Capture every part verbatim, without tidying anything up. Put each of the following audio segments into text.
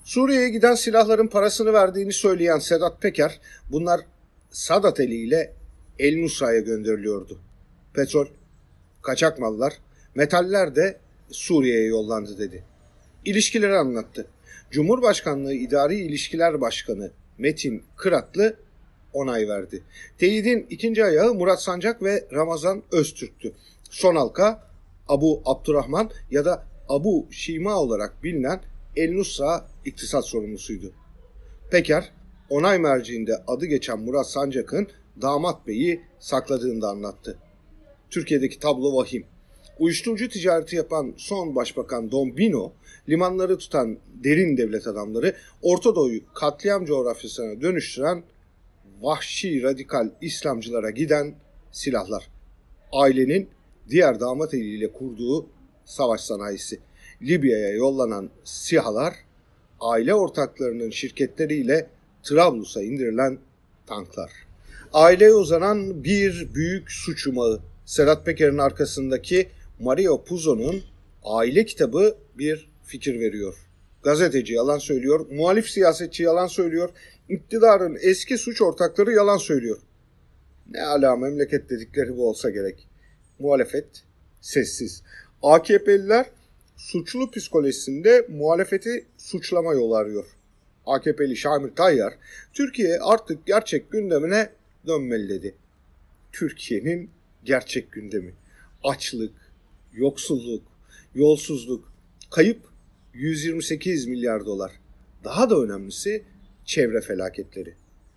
Suriye'ye giden silahların parasını verdiğini söyleyen Sedat Peker, bunlar Sadat eliyle El Nusra'ya gönderiliyordu. Petrol, kaçak mallar, metaller de Suriye'ye yollandı dedi. İlişkileri anlattı. Cumhurbaşkanlığı İdari İlişkiler Başkanı Metin Kıratlı onay verdi. Teyidin ikinci ayağı Murat Sancak ve Ramazan Öztürk'tü. Son halka Abu Abdurrahman ya da Abu Şima olarak bilinen El Nusra iktisat sorumlusuydu. Peker, onay merciinde adı geçen Murat Sancak'ın damat beyi sakladığını da anlattı. Türkiye'deki tablo vahim. Uyuşturucu ticareti yapan son başbakan Dombino, limanları tutan derin devlet adamları, Orta Doğu'yu katliam coğrafyasına dönüştüren vahşi radikal İslamcılara giden silahlar. Ailenin diğer damat eliyle kurduğu savaş sanayisi. Libya'ya yollanan SİHA'lar, aile ortaklarının şirketleriyle Trablus'a indirilen tanklar. Aileye uzanan bir büyük suç yumağı. Sedat Peker'in arkasındaki Mario Puzo'nun aile kitabı bir fikir veriyor. Gazeteci yalan söylüyor, muhalif siyasetçi yalan söylüyor, iktidarın eski suç ortakları yalan söylüyor. Ne ala memleket dedikleri bu olsa gerek. Muhalefet sessiz. A K P'liler suçlu psikolojisinde muhalefeti suçlama yolu arıyor. A K P'li Şamil Tayyar, Türkiye artık gerçek gündemine dönmeli dedi. Türkiye'nin gerçek gündemi. Açlık, yoksulluk, yolsuzluk, kayıp yüz yirmi sekiz milyar dolar. Daha da önemlisi çevre felaketleri.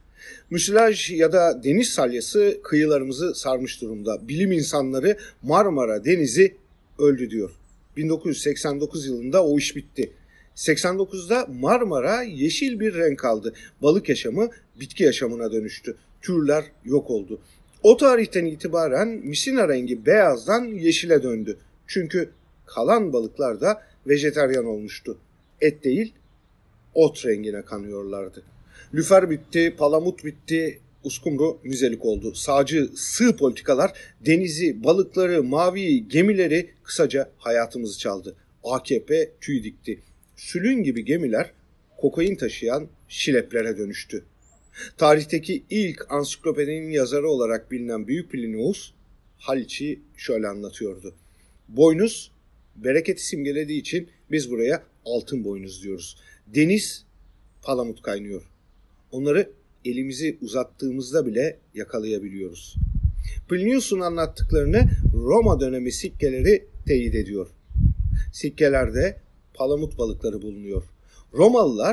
Müsilaj ya da deniz salyası kıyılarımızı sarmış durumda. Bilim insanları Marmara Denizi öldü diyor. bin dokuz yüz seksen dokuz yılında o iş bitti. seksen dokuzda Marmara yeşil bir renk aldı. Balık yaşamı bitki yaşamına dönüştü. Türler yok oldu. O tarihten itibaren misina rengi beyazdan yeşile döndü. Çünkü kalan balıklar da vejetaryen olmuştu. Et değil, ot rengine kanıyorlardı. Lüfer bitti, palamut bitti, uskumru müzelik oldu. Sağcı sığ politikalar denizi, balıkları, mavi gemileri, kısaca hayatımızı çaldı. A K P tüy dikti. Sülün gibi gemiler kokain taşıyan şileplere dönüştü. Tarihteki ilk ansiklopedinin yazarı olarak bilinen Büyük Plinius, Haliç'i şöyle anlatıyordu. Boynuz, bereketi simgelediği için biz buraya altın boynuz diyoruz. Deniz, palamut kaynıyor. Onları elimizi uzattığımızda bile yakalayabiliyoruz. Plinius'un anlattıklarını Roma dönemi sikkeleri teyit ediyor. Sikkelerde palamut balıkları bulunuyor. Romalılar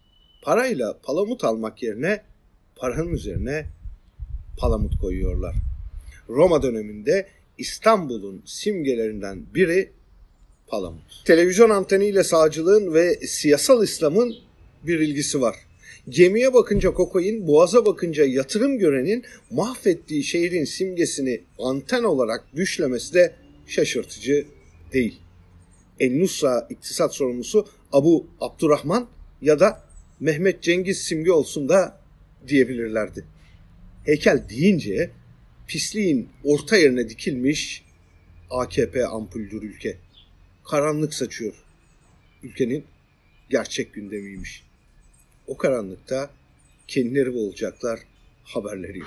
parayla palamut almak yerine paranın üzerine palamut koyuyorlar. Roma döneminde İstanbul'un simgelerinden biri palamut. Televizyon anteniyle sağcılığın ve siyasal İslam'ın bir ilgisi var. Gemiye bakınca kokain, boğaza bakınca yatırım görenin mahvettiği şehrin simgesini anten olarak düşlemesi de şaşırtıcı değil. El Nusra iktisat sorumlusu Abu Abdurrahman ya da Mehmet Cengiz simge olsun da diyebilirlerdi. Heykel deyince pisliğin orta yerine dikilmiş A K P ampuldür ülke. Karanlık saçıyor. Ülkenin gerçek gündemiymiş. O karanlıkta kendileri olacaklar haberleri yok.